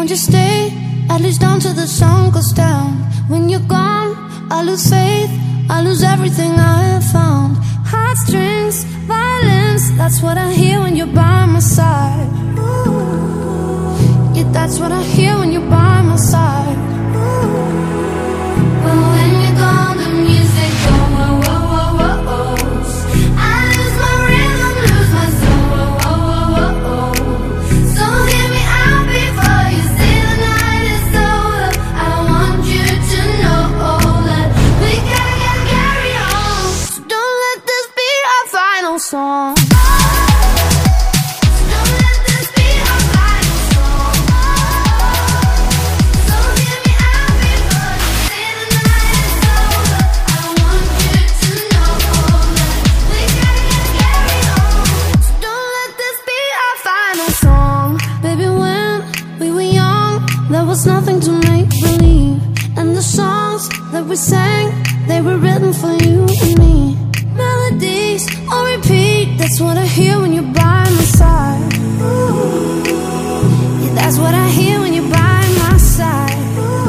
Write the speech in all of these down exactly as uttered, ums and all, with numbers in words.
Won't you stay, at least until the sun goes down? When you're gone, I lose faith, I lose everything I have found. Heartstrings, violence, that's what I hear when you're by my side. Yeah, that's what I hear when you're by my side. But when you're gone, the music goes whoa, whoa, whoa, whoa, whoa. I lose my rhythm, lose my soul, whoa, whoa, whoa, whoa, whoa. So hear me out before you say the night is over. I want you to know that we gotta get carried on. So don't let this be our final song. Nothing to make believe, and the songs that we sang, they were written for you and me. Melodies on repeat, that's what I hear when you're by my side. Yeah, that's what I hear when you're by my side.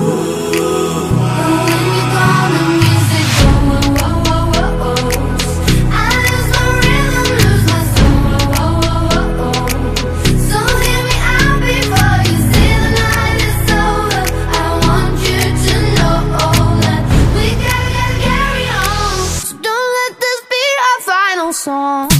But when you're gone, the music goes whoa, whoa, whoa, whoa, whoa. I lose my rhythm, lose my soul, whoa, whoa, whoa, whoa. So hear me out before you say the night is over. I want you to know that we gotta get carried on. So don't let this be our final song.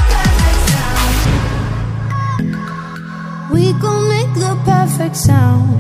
We gon' make the perfect sound.